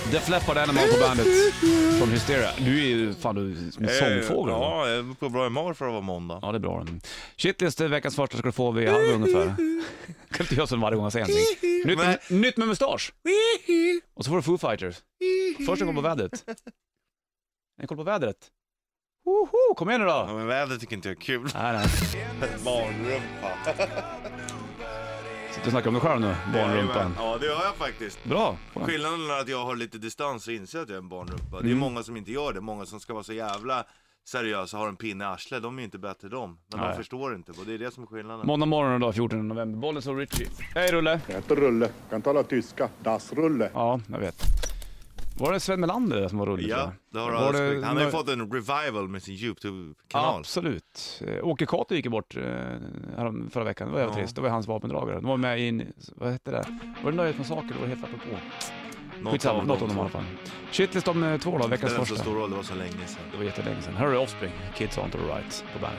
Def Leppard Animal på bandet från Hysteria. Du är ju fan en sångfågel. Ja, jag är på bra humör för att vara måndag. Ja, det är bra. Shitlist, veckans första ska du få vid halv ungefär. Kan inte göra så varje gång jag säger någonting. Nytt med mustasch. Och så får du Foo Fighters. Först en koll på vädret. En koll på vädret. Kom igen nu då. Ja, men vädret tycker inte jag är kul. Nej. Barnrumpa. Sitter och snackar om dig själv nu, barnrumpan. Ja, det gör jag faktiskt. Bra. Skillnaden är att jag har lite distans och inser att jag är en barnrumpa. Det är många som inte gör det. Många som ska vara så jävla seriösa, har en pinne i arslet. De är inte bättre de. Men de förstår inte. Och det är det som är skillnaden. Måndag morgon då, 14 november. Bollnäs och Richie. Hej Rulle. Jag heter Rulle. Kan tala tyska. Das Rulle. Ja, jag vet. Var det Sven Melander som var Rulle? Ja, det har han har ju fått en revival med sin YouTube-kanal. Absolut. Åke Kato gick bort förra veckan. Det var jävligt trist. Det var hans vapendragare. De var med i en, vad hette det? Var det Nöjesmassaker? Det var helt apropå. Skitsamma, något om dem i alla fall. Shitlist om 2 då, veckans första. Det var så stor roll, det var så länge sedan. Det var jättelänge sedan. Här är Offspring, Kids on to the Right på bandet.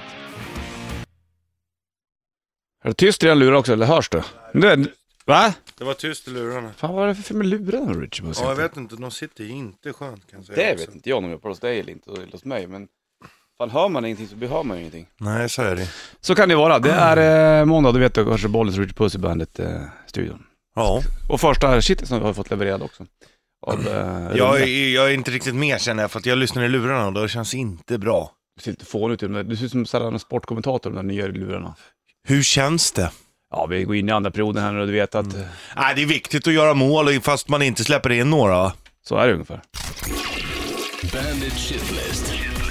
Är det tyst i den luren också, eller hörs det? Va? Det var tyst i lurarna. Fan, vad är det för med lurarna, Richie? Ja, jag vet inte, de sitter ju inte skönt kan jag säga. Det vet inte jag om jag på hos dig eller inte hos mig, men fan, hör man ingenting så behöver man ju ingenting. Nej, så är det. Så kan det vara. Det är måndag, du vet du, kanske Bollnäs och Richie Puss i bandet studion. Ja. Och första shit som vi har fått levererad också. Jag är inte riktigt med känner jag, för att jag lyssnar i lurarna och det känns inte bra. Du ser inte fån ut, du ser som en sportkommentator de där nya lurarna. Hur känns det? Ja, vi går in i andra perioden här och du vet att... Nej, det är viktigt att göra mål fast man inte släpper in några. Så är det ungefär. Bandit Shitlist.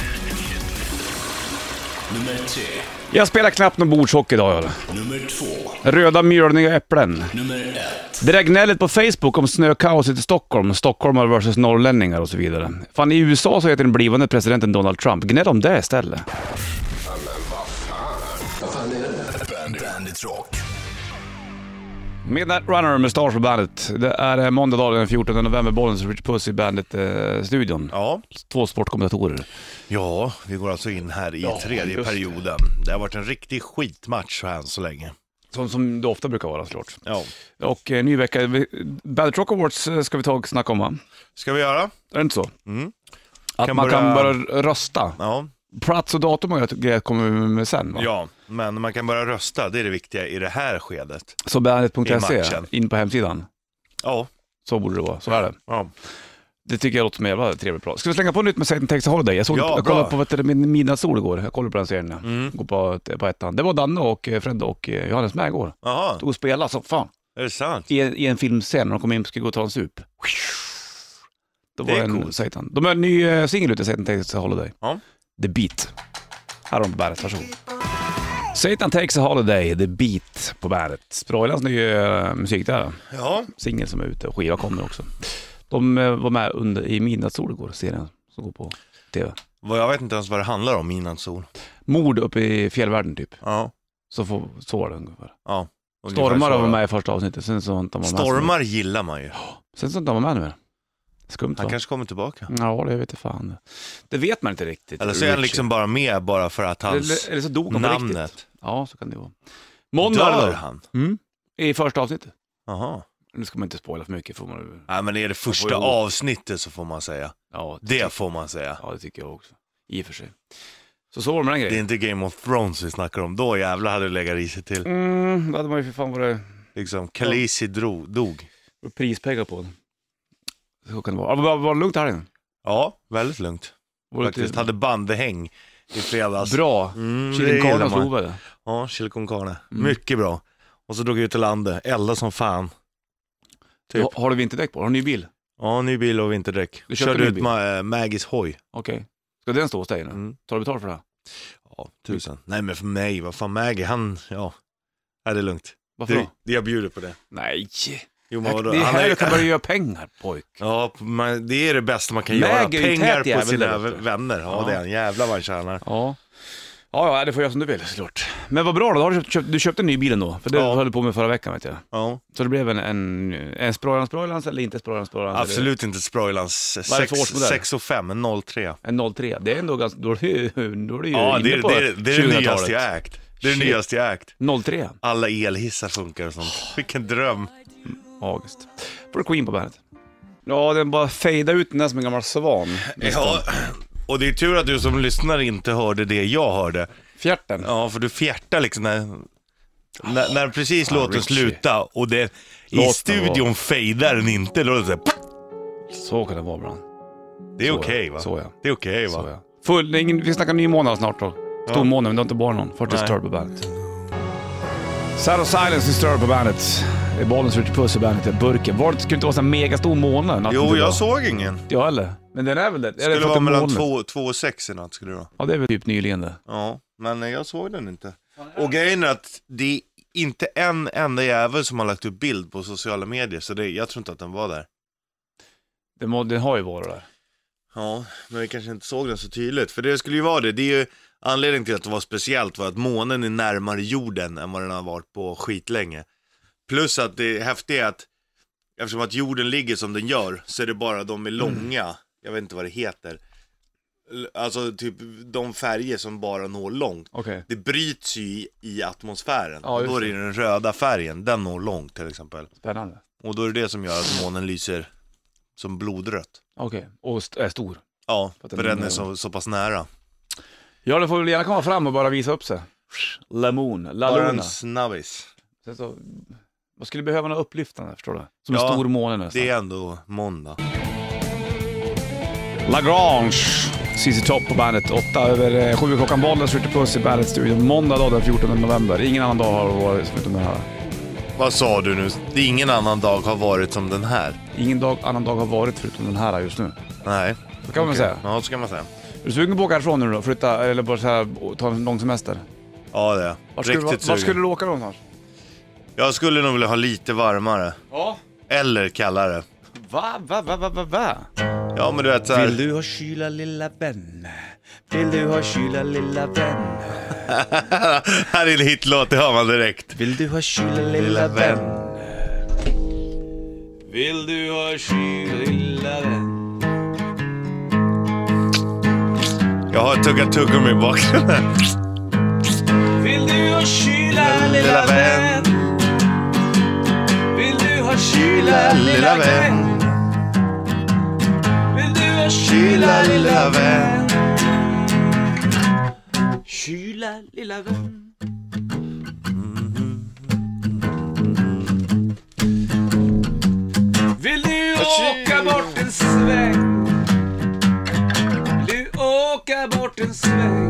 Nummer 3. Jag spelar knappt någon bordshockey idag. Nummer 2. Röda mjölniga äpplen. Nummer 1. Det där gnället på Facebook om snökaoset i Stockholm, stockholmare versus norrlänningar och så vidare. Fan, i USA så heter den blivande presidenten Donald Trump. Gnäll om det istället. Bandit Rock. Midnight Runner med Stars på bandet. Det är måndag dag den 14 november. Bollnäs och Richie Puss i bandet-studion. Ja. 2 sportkommentatorer. Ja, vi går alltså in här i tredje perioden. Det har varit en riktig skitmatch så här så länge. Som det ofta brukar vara, såklart. Ja. Och ny vecka. Bandit Rock Awards ska vi ta och snacka om, va? Ska vi göra? Är det inte så? Mm. Att man kan börja rösta. Ja. Plats och datum och grejer kommer vi med sen, va? Ja, men man kan börja rösta. Det är det viktiga i det här skedet. Så I bandet.se, matchen. in på hemsidan. Ja. Så borde det vara, så är det. Ja. Det tycker jag låter som en jävla trevligt bra. Ska vi slänga på nytt med Satan Takes a Holiday? Jag kollade på Midnattssol igår. Jag kollade på den serien. Går på ettan. Det var Danne och Fred och Johannes med igår. Jaha, Tog och spelade så fan. är det sant? I en filmscen när de kom in och skulle gå och ta en sup. Då var Det är en coolt. Satan. De har en ny singel ute, Satan Takes a Holiday. Ja. The Beat. Här har de på bandet, varsågod. Satan Takes a Holiday, The Beat på bandet. Sproilans nya musik där. Ja. Singel som är ute och skiva kommer också. De var med i Midnattssol igår, serien som går på tv. Jag vet inte ens vad det handlar om innan sol. Mord uppe i fjällvärlden typ. Ja. Så var det ungefär. Ja. Stormar var med i första avsnittet. Sen så var inte han med. Stormar gillar man ju. Sen så inte han var med nu mer. Skumt, Han va? kanske kommer tillbaka. Ja, det vet jag fan. Det vet man inte riktigt. Eller så är han liksom bara med bara för att hans eller så dog han på riktigt. namnet. Ja, så kan det vara. Måndag Dör då. han? I första avsnittet. Jaha. Nu ska man inte spoila för mycket. Får man... Nej, men är det första avsnittet så får man säga. Ja, Det får man säga. Ja, det tycker jag också. I och för sig. Så var det med den Det är grejen. inte Game of Thrones vi snackar om. Då jävla hade det legat i sig till. Då hade man ju för fan varit Liksom, Khaleesi dog. prispengar på den. Så kan det vara. Var det lugnt här inne? Ja, väldigt lugnt. Var det Faktiskt hade bandehäng i fredags. Bra. det Chili gillar con carne man. slovade. Ja, chili con carne. Mycket bra. Och så drog jag ut till landet. Elda som fan. Typ. Har du vinterdäck på? Har du en ny bil? Ja, ny bil och vinterdäck. Du köpte Körde ny ut bil? Maggies hoj. Okej. Ska den stå hos dig nu? Tar du betalt för det här? Ja, 1000. Nej, men för mig, vad fan Maggie, han, ja. Nej, det är lugnt. Varför då? Jag bjuder på det. Nej. Jo, men vadå? Det är Han här du kan börja göra pengar, pojk. Ja, det är det bästa man kan Maggie göra. är ju Pengar tät på jävel sina där, vet du. vänner. Ja, det är en jävla vad han tjänar. Ja. Ja, det får jag som du vill, såklart. Men vad bra då, du köpte en ny bil ändå. För det höll du på med förra veckan, vet jag. Ja. Så det blev en Sproilans eller inte Sproilans? Absolut inte Sproilans. Vad är det för årsmodell? 6 och 5, en 03. En 03. Det är ändå ganska... Då är du ju Ja, det inne på är det nyaste jag 2000-talet. ägt. Det är det Shit. nyaste jag ägt. 03. Alla elhissar funkar och sånt. Vilken dröm. August. Får du Queen på bandet. Ja, den bara fejdar ut den där som en gammal svan. Ja, och det är tur att du som lyssnar inte hörde det jag hörde. Fjärten. Ja, för du fjärtar liksom när precis låter Richie. sluta och det i studion fejdar den inte. Då är det Så kan det vara ibland. det är Så, okej, va? Så ja. Det är okej, va? Så ja. Vi snackar ny månad snart då. Stor månad, men det är inte bara någon. För Disturbed på bandet. Sad of Silence, Disturbed på bandet. Det är Bollens Richard Puss i bandet i burken. Var det skulle inte vara så mega stor månad? Jo, jag såg ingen. Ja, eller? Men den är väl det? Det skulle vara mellan 2 och 6 i natt skulle det vara. Ja, det är väl typ nyligen det. Ja, men jag såg den inte. Och grejen är att det är inte en enda jävel som har lagt upp bild på sociala medier. Så jag tror inte att den var där. Den har ju varit där. Ja, men vi kanske inte såg den så tydligt. För det skulle ju vara det. Det är ju anledningen till att det var speciellt var att månen är närmare jorden än vad den har varit på skitlänge. Plus att det häftiga är att eftersom att jorden ligger som den gör så är det bara de är långa. Jag vet inte vad det heter. Alltså typ de färger som bara når långt. Okay. Det bryts ju i atmosfären. Ja, och då är det den röda färgen. Den når långt till exempel. Spännande. Och då är det det som gör att månen lyser som blodrött. Okej, och är stor. Ja, För att för den är så pass nära. Ja, det får väl gärna komma fram och bara visa upp sig. La Bara Luna. en snabbis. Sen så, man skulle behöva något upplyftande, förstår du? Som en Ja, stor måne nästan. Det är ändå måndag. Lagrange, CC Top på bandet. 8:07 klockan. Bollens Richard Puss i bandet-studion. Måndag då, den 14 november. Ingen annan dag har varit som den här. Vad sa du nu? Det är ingen annan dag har varit som den här. Annan dag har varit förutom den här just nu. Nej. Så kan man säga. Ja, så kan man säga. Är du sugen på att åka härifrån nu då? Flytta eller bara så här, ta en lång semester? Ja, det är riktigt Var skulle sugen. du åka någonstans? Jag skulle nog vilja ha lite varmare. Ja. Eller kallare. Va? Ja, men du vet så här. Vill du ha kyla lilla vän? Vill du ha kyla lilla vän? Här är en hitlåt, det hör man direkt. Vill du ha kyla lilla vän? Vill du ha kyla lilla vän? Jag har tuggat tuggummi i bakgrunden. Vill du ha kyla lilla vän? Vill du ha kyla lilla vän? Vill du ha kyla lilla vän? Kyla lilla vän. Vill du åka bort en sväng? Vill du åka bort en sväng?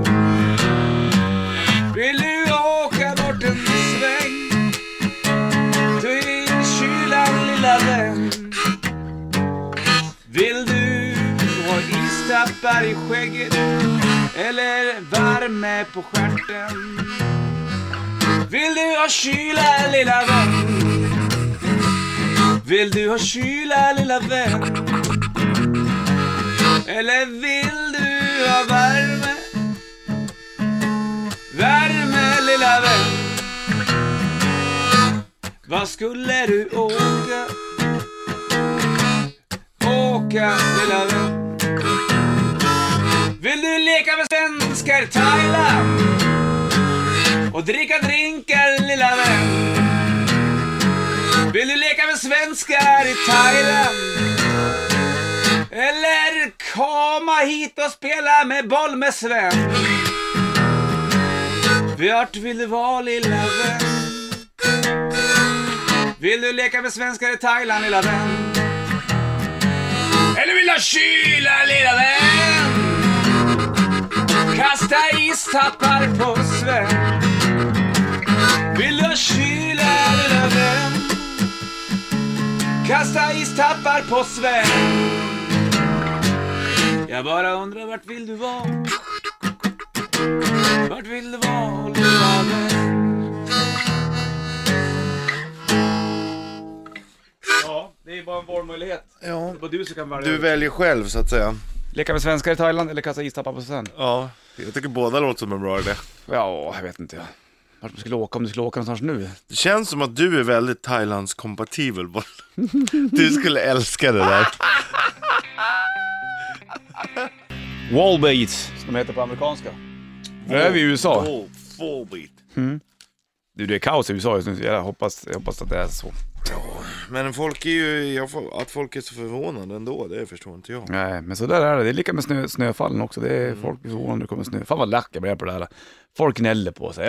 Vill du åka bort en sväng? Ta in kylan lilla vän. Vill du ha istappar i skägget eller värme på stjärten? Vill du ha kyla lilla vän? Vill du ha kyla lilla vän? Eller vill du ha värme? Värme lilla vän. Vad skulle du åka? Åka lilla vän. Vill du leka med svenskar i Thailand och dricka drinkar lilla vän? Vill du leka med svenskar i Thailand eller komma hit och spela med boll med Sven? Vart vill du vara lilla vän? Vill du leka med svenskar i Thailand lilla vän? Eller vill du ha kyla lilla vän? Kasta istappar på Sven. Vill du ha kyla lilla vän? Kasta istappar på Sven. Jag bara undrar vart vill du vara? Vart vill du vara lilla vän? Ja, det är bara en valmöjlighet. Ja. Det är du som kan välja. Du väljer själv så att säga. Leka med svenskar i Thailand eller kasta istappar på Sven? Ja, jag tycker båda låter som en bra idé. Ja, jag vet inte. Vart man skulle åka om du skulle åka någonstans nu? Det känns som att du är väldigt Thailands-kompatibel. Du skulle älska det där. Wallbeat, som de heter på amerikanska. Det är vi i USA. Full beat. Du, det är kaos i USA just nu. Jag hoppas att det är så. Men folk är ju, att folk är så förvånade ändå, det förstår inte jag. Nej, men så där är det. Det är lika med snöfallen också. Det är folk är förvånade när det kommer snö. Fan vad lack jag blev på det här. Folk gnäller på sig.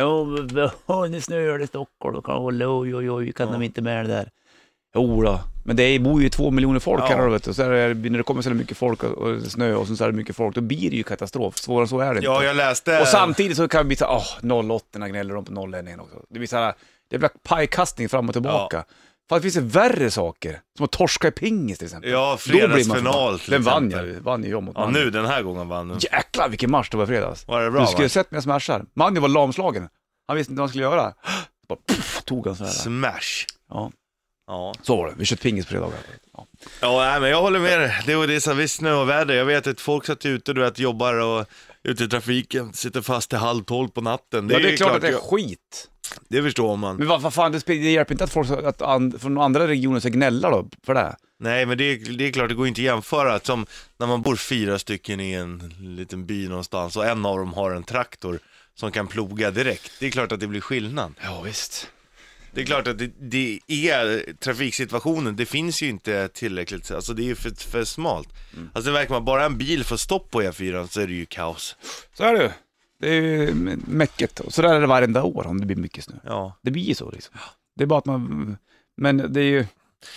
Nu snöar det i Stockholm. Oj, kan de inte med det där? Jo då. Men det bor ju 2 miljoner folk här då, vet du. Så är det, när det kommer så mycket folk och snö och så är det mycket folk, då blir det ju katastrof. Svårare än så är det inte. Ja, jag läste... Och samtidigt så kan det bli så 08 gnäller de på 01 också. Det blir så här, det blir pajkastning fram och tillbaka. För att det finns värre saker. Som att torska i pingis till exempel. Ja, fredagsfinal. Den vann ju jag mot ja, nu den här gången vann den. Jäklar vilken match det var i fredags. Var det bra, du skulle ha sett mig smashar. Manny var lamslagen. Han visste inte vad han skulle göra. Bara tog han så här. Smash. Ja. Ja. Så var det. Vi kört pingis på fredagar. Ja. Ja, nej, men jag håller med dig. Det var det så visst snö och väder. Jag vet att folk satt ute, du vet, jobbar och ute i trafiken, sitter fast till 11:30 på natten. Det är klart att det är skit. Det förstår man. Men vad fan, det hjälper inte att folk från andra regioner ska gnälla då för det. Nej, men det är klart, det går inte att jämföra. Som när man bor 4 stycken i en liten by någonstans och en av dem har en traktor som kan ploga direkt. Det är klart att det blir skillnad. Ja, visst. Det är klart att det är trafiksituationen, det finns ju inte tillräckligt, alltså det är ju för smalt. Alltså det verkar man, bara en bil får stopp på E4 så är det ju kaos. Så är det. Det är ju mäcket. Så där är det varenda år om det blir mycket snö. Ja. Det blir ju så liksom. Det är bara att man... Men det är ju...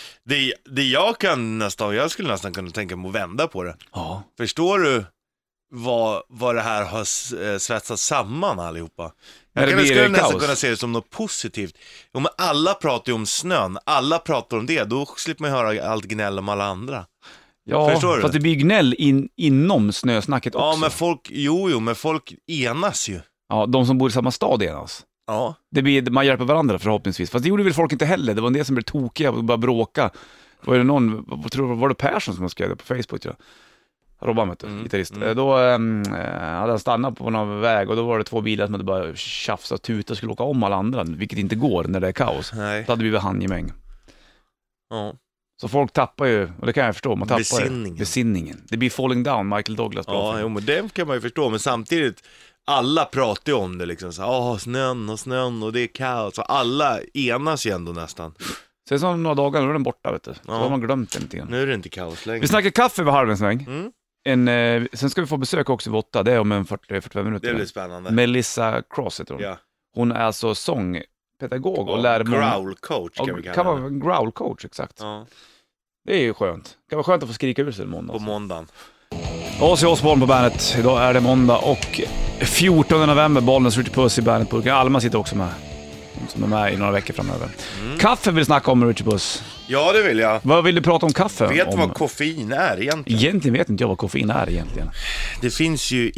Det jag skulle nästan kunna tänka mig att vända på det. Ja. Förstår du vad det här har svetsat samman allihopa? Jag skulle nästan kunna se det som något positivt. Jo, men alla pratar ju om snön, alla pratar om det, då slipper man höra allt gnäll om alla andra. Ja, för att det blir gnäll inom snösnacket också. Ja, men men folk enas ju. Ja, de som bor i samma stad enas. Ja. Man hjälper varandra förhoppningsvis. Fast det gjorde väl folk inte heller. Det var en del som blev tokiga och bara bråka. Var det var det Persson som skrev det på Facebook, tror jag. Robban, gitarrist. Då hade han stannat på någon väg och då var det 2 bilar som hade bara tjafsat och tutat och skulle åka om alla andra, vilket inte går när det är kaos. Nej. Då hade vi handgemäng. Ja. Så folk tappar ju, och det kan jag förstå, man tappar besinningen. Det blir Falling Down, Michael Douglas. Ja, men det kan man ju förstå, men samtidigt alla pratar ju om det liksom så, snön och det är kaos, så alla enas ju ändå nästan. Sen så några dagar, då är den borta, vet du. Så har man glömt den lite grann. Nu är det inte kaos längre. Vi snackar kaffe vid halv en sväng. Sen ska vi få besök också vid 8, det är om en 40-45 minuter. Det blir spännande. Melissa Cross heter hon. Ja. Hon är alltså sångpedagog och lär growl coach kan vi kalla kan vara en growl coach, exakt. Ja. Det är ju skönt. Det kan vara skönt att få skrika ur sig en måndag. På måndagen. Ozzy Osbourne på bandet. Idag är det måndag och 14 november, Bollnäs Richard Puss i bandet-burken. Alma sitter också med. Som är med i några veckor framöver. Kaffe vill du snacka om, Richard Puss. Ja, det vill jag. Vad vill du prata om kaffe? Vet du vad koffein är egentligen? Egentligen vet inte jag vad koffein är egentligen. Det finns ju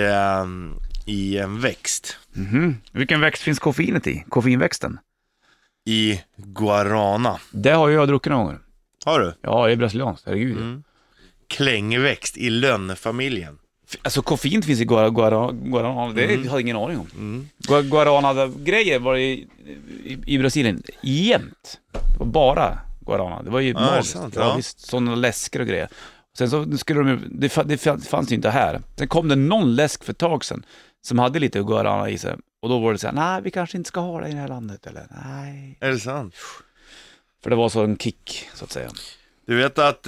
i en växt. Vilken växt finns koffeinet i? Koffeinväxten? I guarana. Det har jag druckit några gånger. Har du? Ja, det är brasilianskt, herregud. Klängväxt i lönnfamiljen. Alltså koffein finns i guarana, det har jag ingen aning om. Guarana-grejer var i Brasilien jämt. Det var bara guarana. Det var ju magiskt. Sant, det var visst sådana läsker och grejer. Sen så skulle det fanns ju inte här. Sen kom det någon läsk för ett tag sedan som hade lite guarana i sig. Och då var det så här, nej, vi kanske inte ska ha det i det här landet. Eller nej. Är det sant? För det var så en kick, så att säga. Du vet att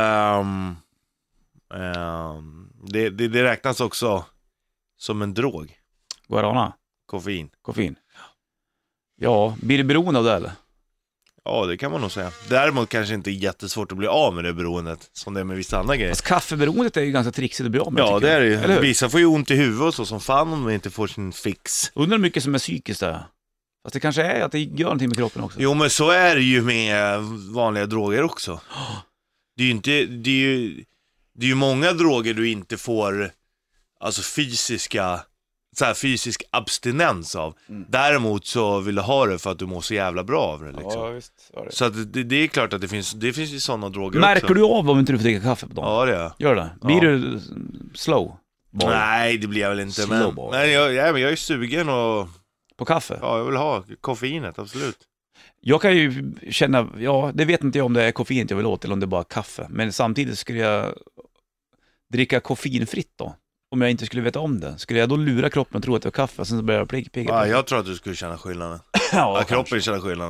det räknas också som en drog. Guarana? Koffein. Ja, blir det beroende av det eller? Ja, det kan man nog säga. Däremot kanske inte är jättesvårt att bli av med det beroendet som det är med vissa andra grejer. Alltså, kaffeberoendet är ju ganska trixigt att bli av med. Ja, det är det ju. ju. Vissa får ju ont i huvudet och så som fan om de inte får sin fix. Undrar hur mycket som är psykiskt där. Fast det kanske är att det gör någonting med kroppen också. Jo, men så är det ju med vanliga droger också. Det är ju inte, det är ju många droger du inte får alltså fysisk abstinens av. Däremot så vill du ha det för att du mår så jävla bra av det liksom. Ja, visst. Det. Så att det är klart att det finns ju sådana droger Märker också. du av om inte du får dricka kaffe på dagen? Ja, det är. Gör det? Blir du slow? Boy? Nej, det blir jag väl inte. Slow boy. Men jag är sugen och på kaffe? Ja, jag vill ha koffeinet, absolut. Jag kan ju känna, det vet inte jag om det är koffeinet jag vill åt eller om det är bara kaffe. Men samtidigt skulle jag dricka koffeinfritt då. Om jag inte skulle veta om det. Skulle jag då lura kroppen och tro att det var kaffe och sen så börjar jag pigga? Ja, jag tror att du skulle känna skillnaden. Ja, kroppen känner skillnaden.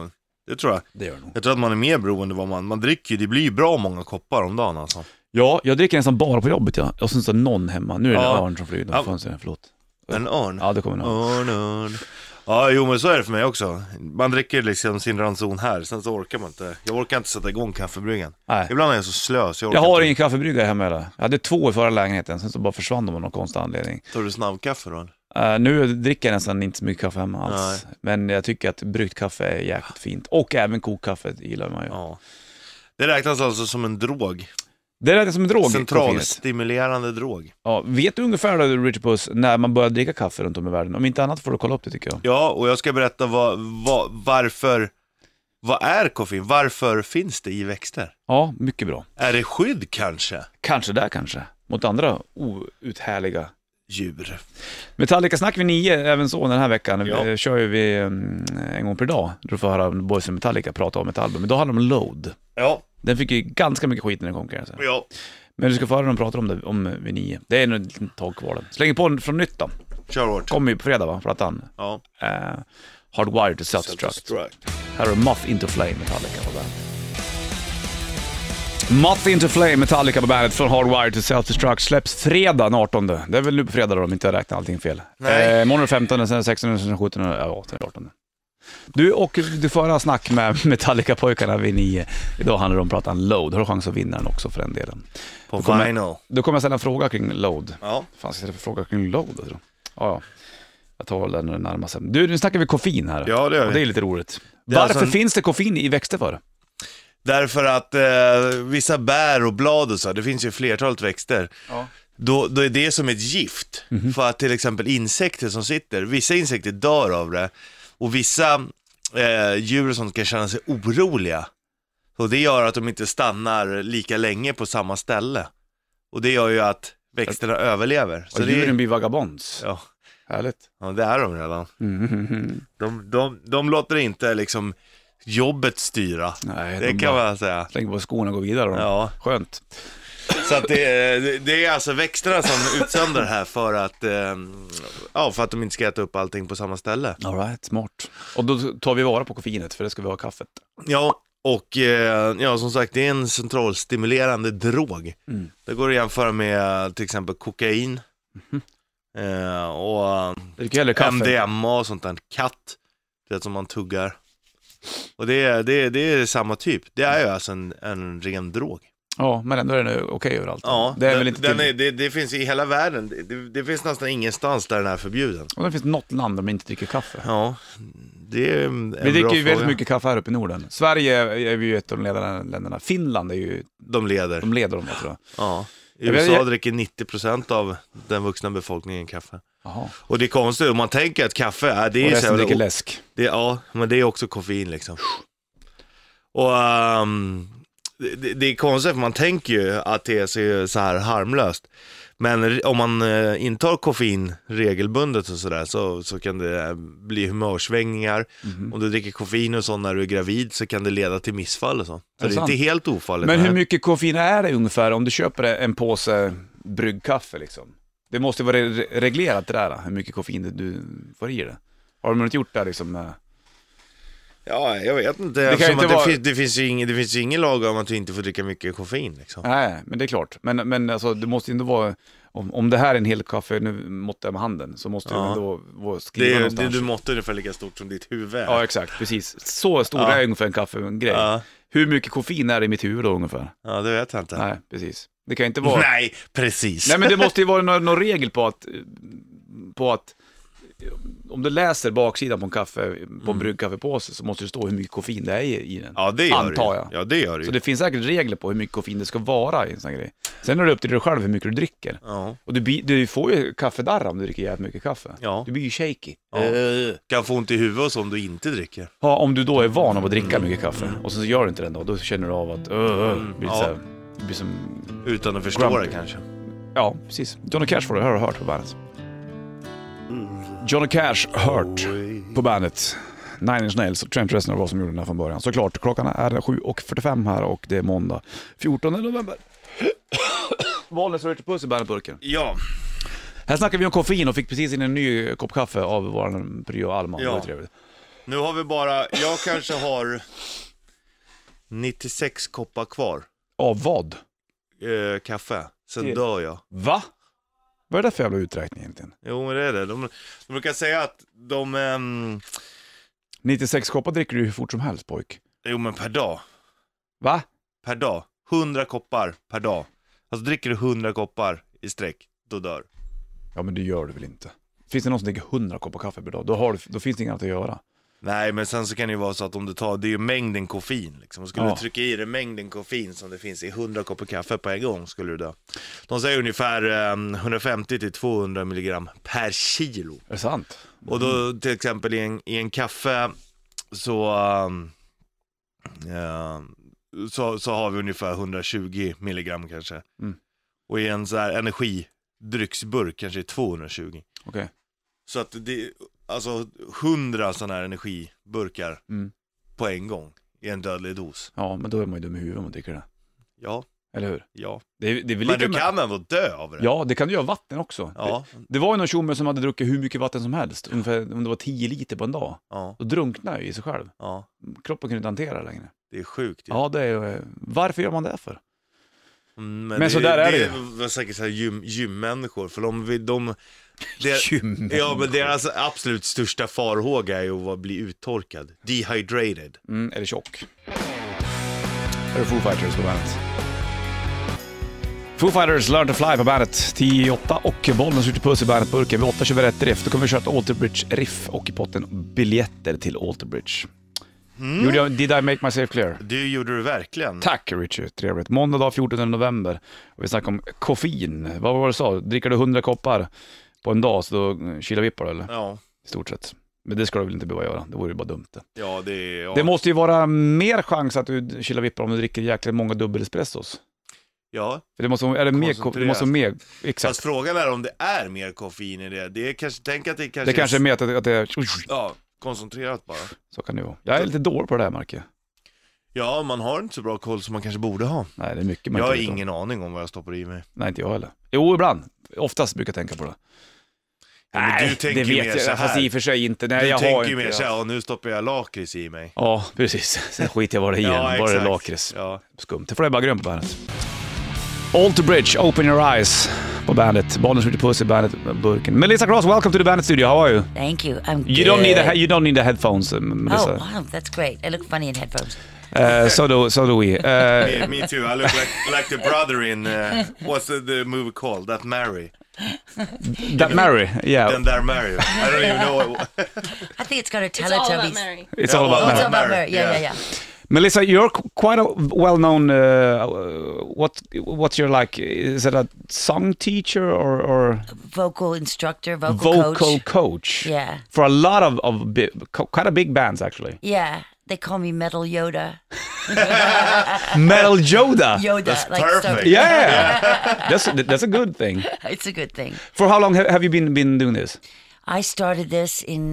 Det tror jag. Det gör det nog. Jag tror att man är mer beroende vad man dricker ju. Det blir ju bra många koppar om dagen alltså. Ja, jag dricker nästan bara på jobbet, ja. Och sen så någon hemma. Nu är det en Ja. örn som flyger. Ja. Förlåt. En örn? Ja, det kommer någon. Örn. Ja, jo men så är det för mig också. Man dricker liksom sin ranson här, sen så orkar man inte. Jag orkar inte sätta igång kaffebryggan. Nej. Ibland är jag så slö så Jag orkar har inte. ingen kaffebryggare hemma heller. Jag hade 2 i förra lägenheten, sen så bara försvann de av någon konstig anledning. Tar du snabbkaffe då? Nu dricker jag nästan inte så mycket kaffe hemma alls. Nej. Men jag tycker att bryggt kaffe är jäkligt fint. Och även kokkaffe gillar man ju. Ja. Det räknas alltså som en drog. Det är som en drog. koffeinet. Centralstimulerande drog. Ja, vet du ungefär då, Richard Puss, när man börjar dricka kaffe runt om i världen? Om inte annat får du kolla upp det, tycker jag. Ja, och jag ska berätta varför. Vad är koffein? Varför finns det i växter? Ja, mycket bra. Är det skydd kanske? Kanske. Mot andra outhärliga Djur. Metallica snack vid 9, även så den här veckan. Ja. Vi kör ju vi en gång per dag. Du får höra Boys and Metallica prata om ett album. Men då handlar det om Load. Ja. Den fick ju ganska mycket skit när den kom, kan jag säga. Ja. Men du ska få höra dem prata om det om vid 9. Det är nog ett litet tag kvar. Slänger på den från nytt då. Kör hårt. Kommer ju på fredag, va? Plattan. Ja. Hardwired to Self-Destruct. Här är Moth Into Flame, Metallica på bandet. Moth Into Flame, Metallica på bandet från Hardwired to Self-Destruct. Släpps fredag den 18. Det är väl nu på fredag då, om inte jag räknar allting fel. Nej. Måndag 15, sen 16, sen 17, ja, sen 18. Du, och du får höra snack med Metallica-pojkarna vid 9. Idag handlar det om pratan Load. Har du chans att vinna den också för den delen. På Då kommer- vinyl. Då kommer jag ställa en fråga kring Load. Ja. Fan, ska jag ställa en fråga kring Load? Då? Ja. Jag tar den när den närmar sig. Du, nu snackar vi koffein här. Ja, det gör vi. Och det är lite roligt. Det är Varför alltså en- finns det koffein i växter för? Därför att vissa bär och blad och så, det finns ju flertalet växter. Ja. Då är det som ett gift. För att till exempel insekter som sitter, vissa insekter dör av det. Och vissa djur som kan känna sig oroliga. Och det gör att de inte stannar lika länge på samma ställe. Och det gör ju att växterna överlever. Så djuren blir vagabonds. Ja, Härligt. ja, det är de redan. De låter inte liksom jobbet styra. Nej, Det de kan bara man säga. slänger på skorna och går vidare. Då. Ja. Skönt. Så att det är alltså växterna som utsöndrar det här för att de inte ska äta upp allting på samma ställe. All right, smart. Och då tar vi vara på koffeinet, för det ska vi ha i kaffet. Ja, och som sagt, det är en centralstimulerande drog. Det går att jämföra med till exempel kokain och Det är hellre kaffe. MDMA och sånt där. Katt, det som man tuggar. Och det är samma typ. Det är ju alltså en ren drog. Ja, men ändå är den okej överallt. Ja, det är väl inte det finns i hela världen. Det finns nästan ingenstans där den är förbjuden. Och det finns något land där man inte dricker kaffe. Ja, det är en Vi dricker bra ju väldigt fråga. mycket kaffe här uppe i Norden. Sverige är ju ett av de ledande länderna. Finland är ju, De leder. de leder dem, jag tror jag. Ja. I Jag vet- USA dricker 90% av den vuxna befolkningen kaffe. Jaha. Och det är konstigt, om man tänker att kaffe är... Det Och är resten så dricker jävla- läsk. Ja, men det är också koffein liksom. Och det är konstigt, för man tänker ju att det är så här harmlöst. Men om man intar koffein regelbundet och sådär, så kan det bli humörsvängningar. Om du dricker koffein och så när du är gravid, så kan det leda till missfall och så. Så Är det det är sant? inte helt ofarligt. Men det hur här. mycket koffein är det ungefär om du köper en påse bryggkaffe liksom? Det måste vara reglerat det där, hur mycket koffein du får i det. Har de inte gjort det liksom? Ja, jag vet inte. Det kan Eftersom inte att vara- det finns ju ingen lag om att du inte får dricka mycket koffein liksom. Nej, men det är klart. Men alltså, det måste ju ändå vara... Om det här är en hel kaffe, nu måttar jag med handen, så måste det ändå vara skriva någonstans. Du måste ungefär lika stort som ditt huvud är. Ja, exakt. Precis. Så stor är ungefär en kaffegrej. Ja. Hur mycket koffein är det i mitt huvud då ungefär? Ja, det vet jag inte. Nej, precis. Det kan inte vara... Nej, precis. Nej, men det måste ju vara någon regel på att om du läser baksidan på en kaffe, på en bryggkaffepåse, så måste det stå hur mycket koffein det är i den. Ja, det gör antar det. jag. Ja, det gör det Så ju. det finns säkert regler på hur mycket koffein det ska vara i en sån här grej. Sen är det upp till dig själv hur mycket du dricker. Ja. Och du får ju kaffedarra om du dricker jävligt mycket kaffe. Ja. Du blir ju shaky. Ja. Kan få ont i huvudet och så om du inte dricker. Ja, om du då är van av att dricka mycket kaffe och så gör du inte den då känner du av att det blir, Ja. så här, det blir som... Utan att förstå Grumpy. det kanske. Ja, precis. Johnny Cash får du höra hört på bandet. Johnny Cash, Hurt på bandet. Nine Inch Nails och Trent Reznor var som gjorde den här från början. Såklart, klockan är 7:45 här och det är måndag 14 november. Valnes och Richard Puss i bandetburken. Ja. Här snackar vi om koffein och fick precis in en ny kopp kaffe av vår pryo Alma. Ja. Det var trevligt. Nu har vi bara, jag kanske har 96 koppar kvar. Av vad? Kaffe. Sen dör jag. Va? Vad är det för jävla uträkning egentligen? Jo, men det är det. De brukar säga att 96 koppar dricker du hur fort som helst, pojk. Jo, men per dag. Va? Per dag. 100 koppar per dag. Alltså dricker du 100 koppar i sträck, då dör. Ja, men det gör du väl inte? Finns det någon som dricker 100 koppar kaffe per dag? Då finns det inget annat att göra. Nej, men sen så kan det ju vara så att om du tar, det är ju mängden koffein liksom. Och skulle Ja. du trycka i dig mängden koffein som det finns i 100 koppar kaffe på en gång, skulle du dö. De säger ungefär 150-200 milligram per kilo. Är det sant? Och då till exempel i en kaffe så har vi ungefär 120 milligram kanske. Mm. Och i en så här energidrycksburk kanske 220. Okej. Så att det, alltså 100 sådana här energiburkar på en gång i en dödlig dos. Ja, men då är man ju dum i huvudet om man dricker det. Ja, Eller hur? ja. Det är väl Men lite du kan ändå dö av det. Ja, det kan du göra vatten också. Ja. Det var ju någon tjomme som hade druckit hur mycket vatten som helst. Ungefär, om det var 10 liter på en dag. Ja, Då drunknade jag i sig själv. ja. Kroppen kunde inte hantera det längre. Det är sjukt. Ja, det är ju... Varför gör man det för? Men så där är det ju. Det var säkert så här gymmänniskor. För det, Gymmänniskor. ja, men deras absolut största farhåga är ju att bli uttorkad. Dehydrated. Eller tjock. Är det Foo Fighters på bandet? Foo Fighters Learn to Fly på bandet 10-8 och bollen skjuter puss i bandetburken. Vid 8 kör vi rätt riff. Då kommer vi köra ett Alter Bridge riff och i potten biljetter till Alter Bridge. Did I make myself clear? Det gjorde du verkligen. Tack Richard, trevligt. Måndag dag 14 november. Och vi snackar om koffein. Vad var det du sa? Dricker du 100 koppar på en dag så då kilar vippar eller? Ja. I stort sett. Men det ska du väl inte behöva göra. Det vore ju bara dumt det. Ja, ja. Det måste ju vara mer chans att du kilar vippar om du dricker jäkligt många dubbelespressos. Ja. För det måste vara mer, exakt. Fast frågan är om det är mer koffein i det. Det är kanske, tänk att det kanske Det kanske är mer att det är... Ja, koncentrerat bara. Så kan det vara. Jag är lite dålig på det här, Marke. Ja, man har inte så bra koll som man kanske borde ha. Nej, det är mycket man Jag har inte vet om. ingen aning om vad jag stoppar i mig. Nej, inte jag heller. Jo, ibland. Oftast brukar jag tänka på det. Ja, men du tänker det vet mer jag, så här. fast i och för sig inte. Nej, Du jag har tänker ju inte mer det. så här, och nu stoppar jag lakrits i mig. Ja, precis. Sen skiter jag vad det är igen. Ja, Bara det exakt. lakrits. Ja. Skumt. Det får jag bara grönt på bandet. Alter Bridge, Open Your Eyes på bandet. Bollen skjuter puss i bandet-burken. Melissa Cross, welcome to the Bandet Studio. How are you? Thank you. I'm good. You don't need the headphones, Melissa. Oh, wow, that's great. I look funny in headphones. So do we. Me too. I look like the brother in what's the movie called? That Mary. That Mary, yeah. Then there Mary. I don't even know what. I think it's got a It's all about Teletubbies. Mary. It's all about Oh, it's Mary. all about Mary, Mary. Yeah, yeah, yeah. Melissa, you're quite a well-known. What's your like? Is it a song teacher or Vocal instructor, vocal coach. coach? Yeah. For a lot of kind of big bands, actually. Yeah, they call me Metal Yoda. Metal Yoda. Yoda. That's like perfect. So, Yeah, that's a good thing. it's a good thing. For how long have you been doing this? I started this in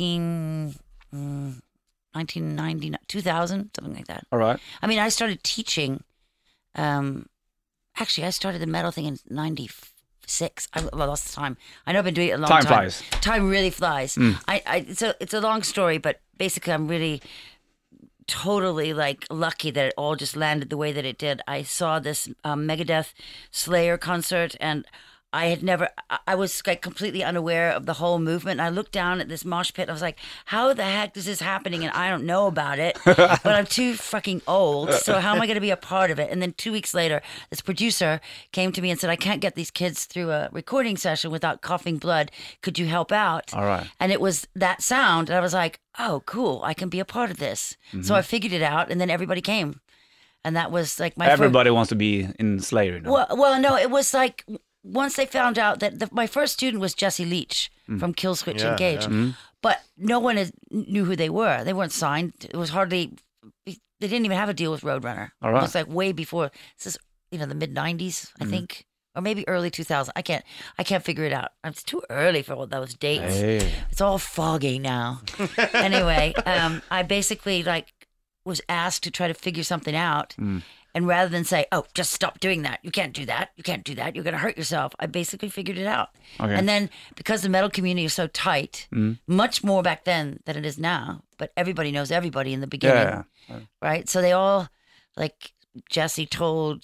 1990, 2000, something like that. All right. I mean, I started teaching. Actually, I started the metal thing in 96. I lost time. I know I've been doing it a long time. Time flies. Time really flies. It's a long story, but basically, I'm really totally like lucky that it all just landed the way that it did. I saw this Megadeth Slayer concert, and I was like completely unaware of the whole movement. And I looked down at this mosh pit. I was like, how the heck is this happening? And I don't know about it, but I'm too fucking old. So how am I going to be a part of it? And then 2 weeks later, this producer came to me and said, I can't get these kids through a recording session without coughing blood. Could you help out? All right. And it was that sound. And I was like, oh, cool. I can be a part of this. So I figured it out, and then everybody came. And that was like my Everybody wants to be in Slayer now. Well, no, it was like once they found out that my first student was Jesse Leach from Killswitch Yeah, Engage, but no one knew who they were. They weren't signed. It was hardly. They didn't even have a deal with Roadrunner. All right. It was like way before. This is the mid '90s, I think, or maybe early 2000s. I can't figure it out. It's too early for all those dates. Hey. It's all foggy now. Anyway, I basically was asked to try to figure something out. And rather than say, oh, just stop doing that. You can't do that. You can't do that. You're going to hurt yourself. I basically figured it out. Okay. And then because the metal community is so tight, much more back then than it is now, but everybody knows everybody in the beginning, right? So they all, like Jesse told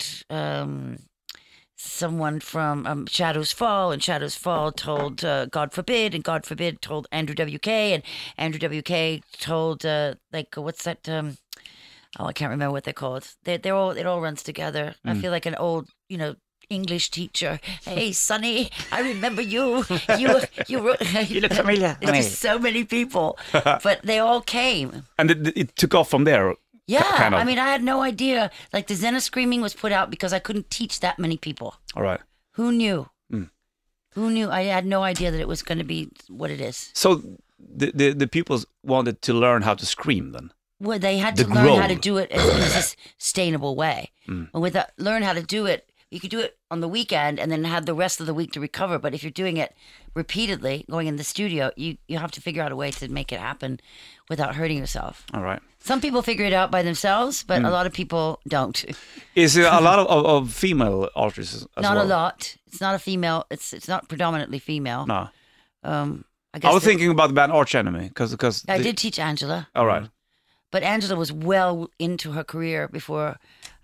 someone from Shadows Fall, and Shadows Fall told God Forbid, and God Forbid told Andrew WK, and Andrew WK told, what's that... I can't remember what they're called. It all runs together. I feel like an old, English teacher. Hey, Sonny, I remember you. You look familiar. There's just so many people, but they all came. And it took off from there. Yeah, kind of. I mean, I had no idea. Like the Zen of Screaming was put out because I couldn't teach that many people. All right. Who knew? Who knew? I had no idea that it was going to be what it is. So the people wanted to learn how to scream then. Well, they had to The learn how to growl. do it in a sustainable way. And with that, learn how to do it, you could do it on the weekend and then have the rest of the week to recover. But if you're doing it repeatedly, going in the studio, you have to figure out a way to make it happen without hurting yourself. All right. Some people figure it out by themselves, but a lot of people don't. Is there a lot of female artists as Not well? a lot. It's not a female. It's not predominantly female. No. I guess I was thinking about the band Arch Enemy because I did teach Angela. All right. But Angela was well into her career before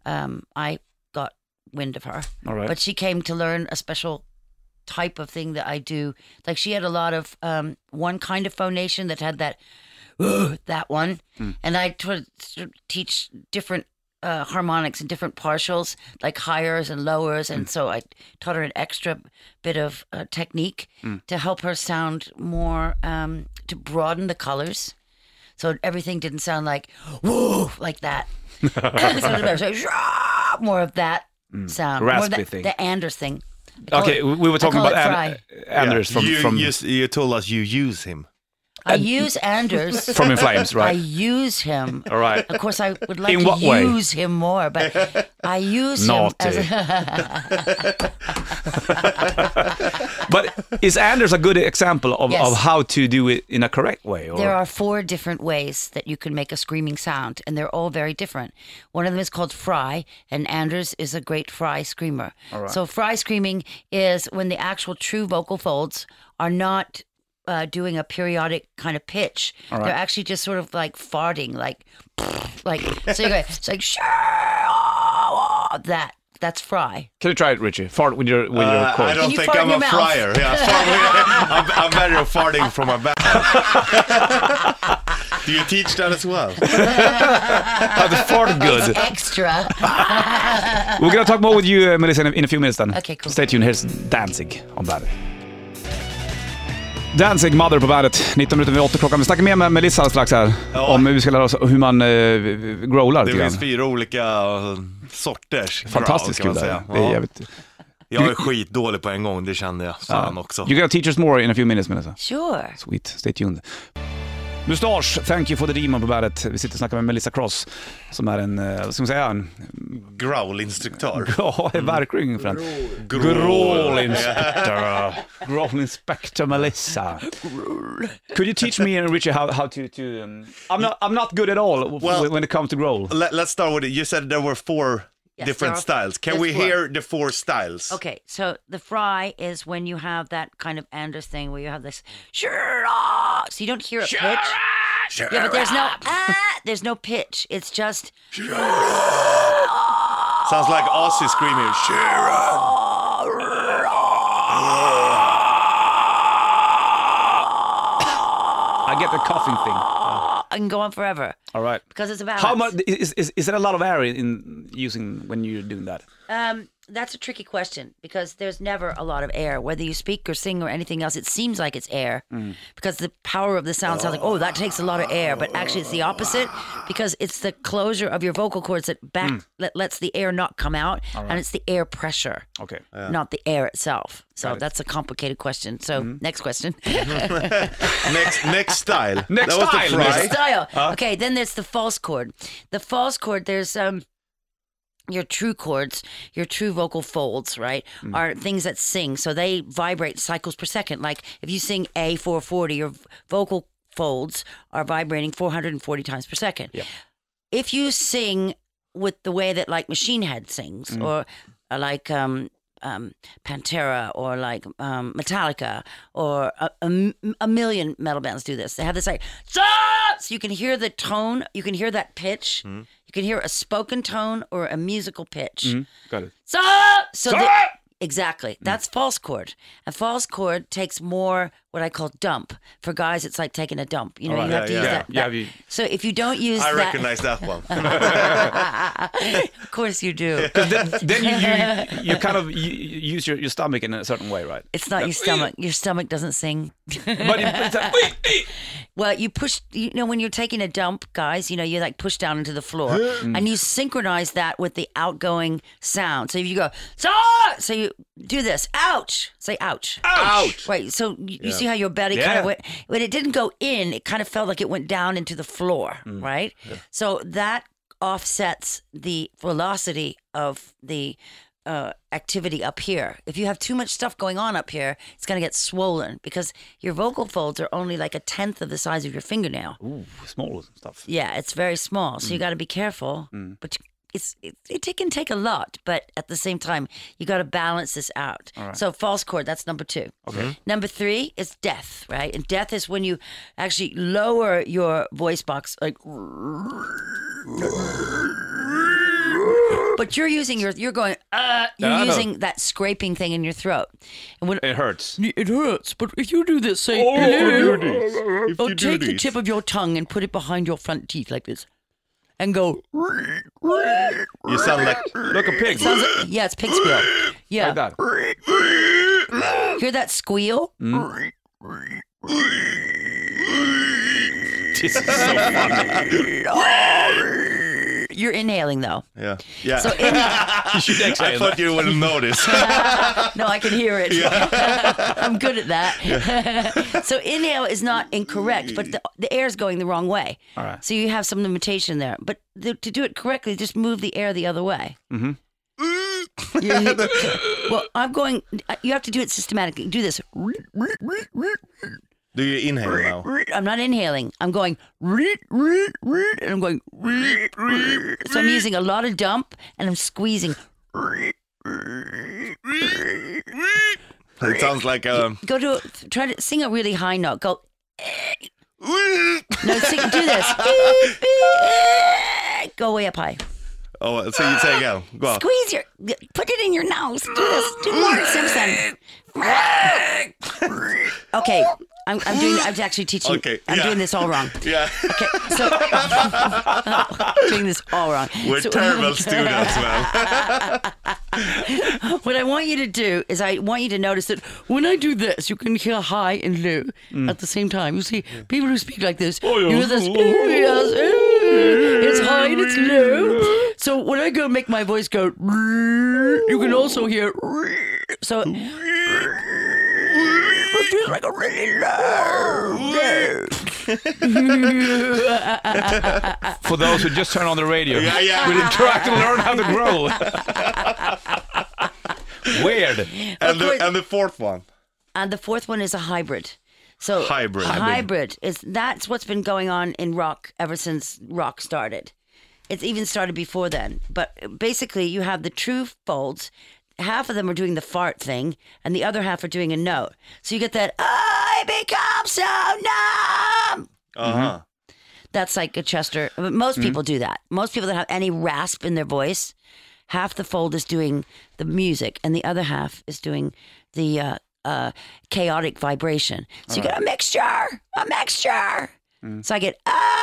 I got wind of her. All right. But she came to learn a special type of thing that I do. Like she had a lot of one kind of phonation that had that one. And I teach different harmonics and different partials, like highers and lowers. And so I taught her an extra bit of technique to help her sound more, to broaden the colors. So everything didn't sound like, whoa, like that. It sounded better. So more of that sound. Raspy more of that, thing. The Anders thing. I call Okay, it- we were talking I call about it fry. Anders from You told us you use him. I use Anders. from In Flames, I right? use him. All right. Of course, I would like In to what way? use him more, but I use Naughty. him as But is Anders a good example of, Yes. of how to do it in a correct way? Or? There are 4 different ways that you can make a screaming sound, and they're all very different. One of them is called fry, and Anders is a great fry screamer. So fry screaming is when the actual true vocal folds are not doing a periodic kind of pitch. They're actually just sort of like farting, like so you go, it's like that. That's fry. Can you try it, Richie? Fart with your I chord. don't you think fart in I'm a your mouth? fryer. Yeah, I'm better at farting from my back. Do you teach that as well? How to fart good. Extra. We're gonna talk more with you, Melissa, in a few minutes then. Okay, cool. Stay tuned. Here's Danzig on bandet. Danzig, Mother på bandet. 19 minuter vid 8 klockan. Vi snackar mer med Melissa alldeles strax här. Ja. Om hur vi ska lära oss hur man growlar Det lite finns grann. 4 olika sorters. Fantastiskt growl, kul kan det man är. säga. Det är Ja. jävligt... Jag är skitdålig på en gång, det kände jag. Fan också. You're gonna teach us more in a few minutes, Melissa. Sure. Sweet, stay tuned. Mustasch, Thank You for the Demon på bandet. Vi sitter och snackar med Melissa Cross som är en, vad ska man säga, en Growl-instruktör. ja, verkligen för en growl inspector. Growl inspector Melissa. Could you teach me and Richie how to I'm not good at all Well, when it comes to growl. Let's start with it. You said there were 4 Yes, different there styles. Can there's we 4. hear the 4 styles? Okay, so the fry is when you have that kind of Anders thing where you have this so you don't hear a pitch. Yeah, but there's no pitch. It's just Sounds like Ozzy screaming. I get the coughing thing. I can go on forever All right. because it's a balance. How much is there a lot of air in using when you're doing that? That's a tricky question because there's never a lot of air. Whether you speak or sing or anything else, it seems like it's air because the power of the sound sounds like, oh, that takes a lot of air. But actually, it's the opposite because it's the closure of your vocal cords that lets the air not come out, and it's the air pressure, Okay. not the air itself. So Got it. that's a complicated question. So next question. Next style. Next That was the style. fry. Next style. Okay, then there's the false chord. The false chord, there's your true chords, your true vocal folds, right, are things that sing. So they vibrate cycles per second. Like if you sing A 440, your vocal folds are vibrating 440 times per second. Yeah. If you sing with the way that like Machine Head sings, or like Pantera, or like Metallica, or a million metal bands do this. They have this like, so you can hear the tone, you can hear that pitch, you can hear a spoken tone or a musical pitch. Got it. Exactly. That's false chord. A false chord takes more what I call dump. For guys, it's like taking a dump. You know, All you right. have to use that. Yeah, So if you don't use I that, recognize that one. of course you do. Then you kind of use your stomach in a certain way, right? It's not your stomach. Your stomach doesn't sing. But it's like, Well, you push, you know, when you're taking a dump, guys, you know, you like push down into the floor and you synchronize that with the outgoing sound. So if you go, so you do this, ouch, say ouch. Ouch! Right. So you see how your belly kind of went, when it didn't go in, it kind of felt like it went down into the floor, right? Yeah. So that offsets the velocity of the activity up here. If you have too much stuff going on up here, it's going to get swollen because your vocal folds are only like 1/10 of the size of your fingernail. Ooh, small stuff. Yeah, it's very small. So you got to be careful. But it can take a lot, but at the same time, you got to balance this out. Right. So false chord, that's number 2. Okay. Number 3 is death, right? And death is when you actually lower your voice box, like. But you're using you're going, you're using that scraping thing in your throat. And when It hurts. it hurts, but if you do this, say, take the tip of your tongue and put it behind your front teeth like this. And go. You sound like Look, a pig. Yeah, it's pig squeal. Yeah. Like that. Hear that squeal? This is so funny. You're inhaling though. yeah. So You should I exhale. thought you wouldn't notice. no, I can hear it. I'm good at that. So inhale is not incorrect, but the air is going the wrong way. All right. So you have some limitation there. But to do it correctly, just move the air the other way. Well, I'm going. You have to do it systematically. Do this. Do you inhale now? I'm not inhaling. I'm going. And I'm going. So I'm using a lot of dump, and I'm squeezing. It sounds like Try to sing a really high note. Go. No, do this. Go way up high. Oh, so you say again. Go on. Squeeze put it in your nose. Do this. Do more Simpson. Okay, I'm actually teaching. Okay, I'm doing this all wrong. Yeah. Okay, so doing this all wrong. We're terrible students, man. What I want you to do is I want you to notice that when I do this, you can hear high and low at the same time. You see, people who speak like this, you hear this, it's high and it's low. So when I go make my voice go, you can also hear, so it feels like a really low. For those who just turn on the radio, Yeah. we try to learn how to grow. Weird. And the fourth one. And the fourth one is a hybrid. So Hybrid. hybrid that's what's been going on in rock ever since rock started. It's even started before then. But basically, you have the true folds. Half of them are doing the fart thing, and the other half are doing a note. So you get that, I become so numb. Uh-huh. That's like a Chester. Most people do that. Most people that have any rasp in their voice, half the fold is doing the music, and the other half is doing the chaotic vibration. So you get a mixture. So I get,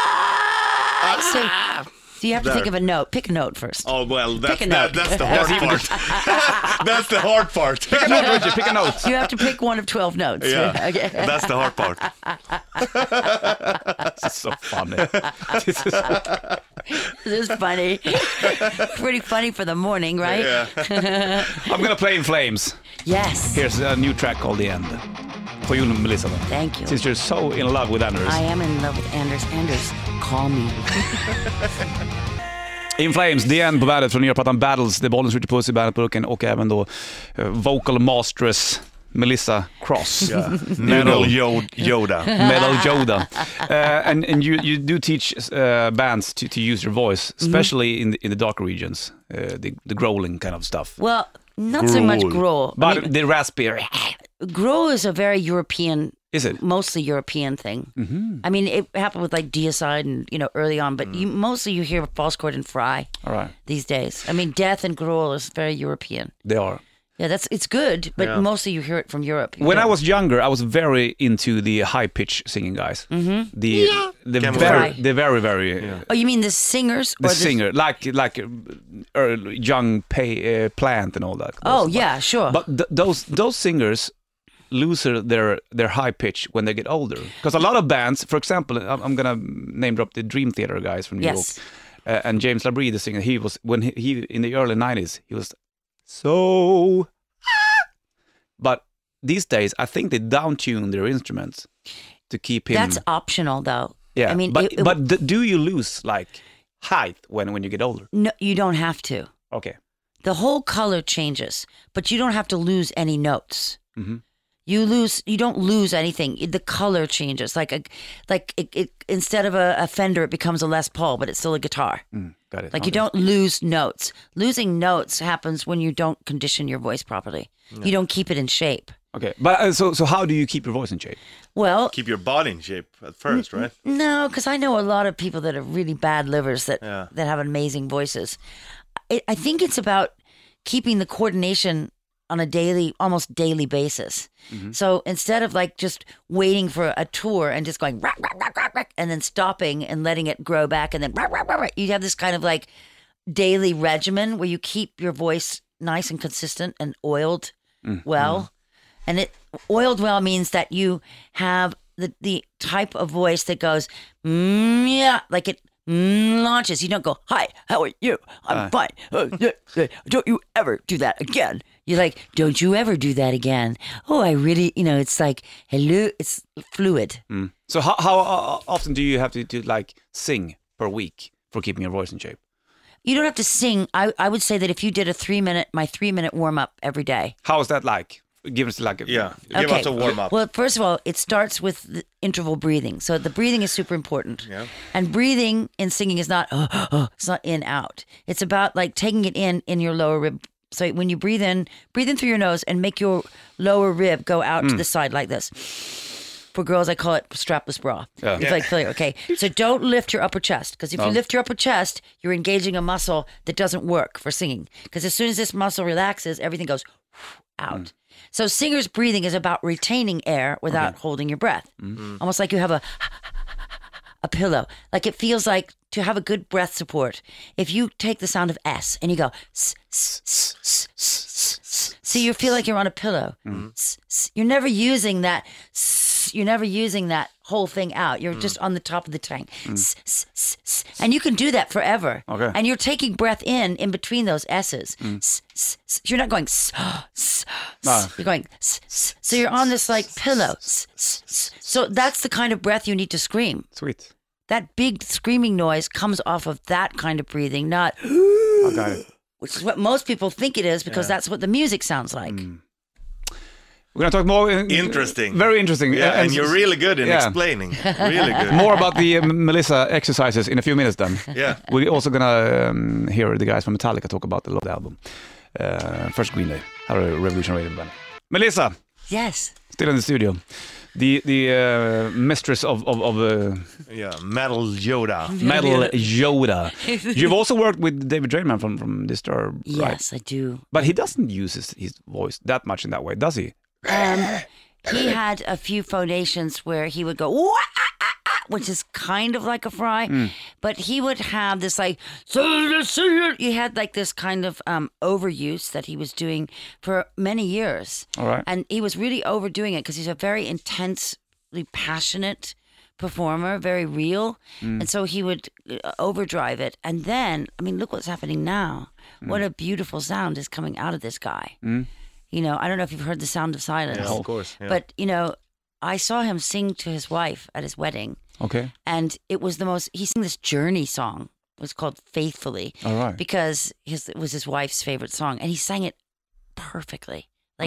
So you have to think of a note. Pick a note first. Oh, well, Pick a note. that's the hard part. That's the hard part. Pick a note, Richard. Pick a note. You have to pick one of 12 notes. Yeah, Okay. that's the hard part. This is so funny. This is funny. Pretty funny for the morning, right? Yeah. I'm gonna play In Flames. Yes. Here's a new track called The End. For you, Melissa. Thank you. Since you're so in love with Anders. I am in love with Anders. Anders, call me. In Flames, The End på bandet från nya plattan Battles. Det är Bollens Richard Puss i bandetburken och även då Vocal Masters Melissa Cross. Metal Yoda. Metal Yoda. And you do teach bands to use your voice, especially in the dark regions, the growling kind of stuff. Well, not so much growl. But I mean, the raspy, growl is a very European, is it? mostly European thing. I mean, it happened with like Deicide and, early on, but mostly you hear false chord and fry All right. these days. I mean, death and growl is very European. They are. Yeah, it's good, but mostly you hear it from Europe. When I was younger, I was very into the high pitch singing guys. The very very Oh, you mean the singers? the singer like young Plant and all that. Oh, yeah, sure. But those singers lose their high pitch when they get older. Because a lot of bands, for example, I'm gonna name drop the Dream Theater guys from New Yes. York, and James LaBrie, the singer. He was when he in the early '90s, he was so. But these days, I think they down-tune their instruments to keep him. That's optional, though. Yeah, I mean, but do you lose like height when you get older? no, you don't have to. Okay. The whole color changes, but you don't have to lose any notes. Mhm. You don't lose anything. The color changes. It instead of a Fender, it becomes a Les Paul, but it's still a guitar. Got it. Like you Okay. don't lose notes. Losing notes happens when you don't condition your voice properly. You don't keep it in shape. Okay, but so how do you keep your voice in shape? Well, Keep your body in shape at first, right? no, because I know a lot of people that have really bad livers that Yeah. that have amazing voices. I think it's about keeping the coordination on a almost daily basis. So instead of like just waiting for a tour and just going rack, rack, rack, rack, rack, and then stopping and letting it grow back and then rack, rack, rack, rack, you have this kind of like daily regimen where you keep your voice nice and consistent and oiled well. And oiled well means that you have the type of voice that goes, yeah, like it launches. You don't go, hi, how are you? I'm fine. Don't you ever do that again. You're like, don't you ever do that again. Oh, I really, it's like, hello, it's fluid. So how often do you have to like sing per week for keeping your voice in shape? You don't have to sing. I would say that if you did my 3-minute warm up every day. How is that like? Give us like a Give us a warm up. Well, first of all, it starts with the interval breathing. So the breathing is super important. Yeah. And breathing in singing is not, it's not in, out. It's about like taking it in your lower rib. So when you breathe in through your nose and make your lower rib go out to the side like this. For girls, I call it strapless bra. Yeah. It's like clear. Okay. So don't lift your upper chest, because if you lift your upper chest, you're engaging a muscle that doesn't work for singing. Because as soon as this muscle relaxes, everything goes out. So singer's breathing is about retaining air without holding your breath. Almost like you have a pillow. Like it feels like to have a good breath support. If you take the sound of S and you go, so you feel like you're on a pillow. You're never using that. You're never using that whole thing out. You're just on the top of the tank. And you can do that forever. Okay. And you're taking breath in between those S's. You're not going You're going so you're on this like pillow. So that's the kind of breath you need to scream. Sweet. That big screaming noise comes off of that kind of breathing, not I got it. which is what most people think it is, because that's what the music sounds like. We're gonna talk more. Interesting. Very interesting. Yeah, and you're really good in explaining. Really good. More about the Melissa exercises in a few minutes. Then Yeah. we're also gonna hear the guys from Metallica talk about the Load album. First Green Day, how a Revolution Radio band. Melissa, Yes. still in the studio. The mistress of Yeah, Metal Yoda. Metal Yoda. You've also worked with David Draymond from Disturbed, right? Yes, I do. But he doesn't use his voice that much in that way, does he? He had a few phonations where he would go, "Wah, ah, ah, ah," which is kind of like a fry, but he would have this like, he had like this kind of overuse that he was doing for many years. All right. And he was really overdoing it because he's a very intensely passionate performer, very real. And so he would overdrive it. And then, I mean, look what's happening now. What a beautiful sound is coming out of this guy. You know, I don't know if you've heard The Sound of Silence. Yeah, of course. Yeah. But, you know, I saw him sing to his wife at his wedding. Okay. And it was he sang this Journey song. It was called Faithfully. All right. Because it was his wife's favorite song. And he sang it perfectly. Like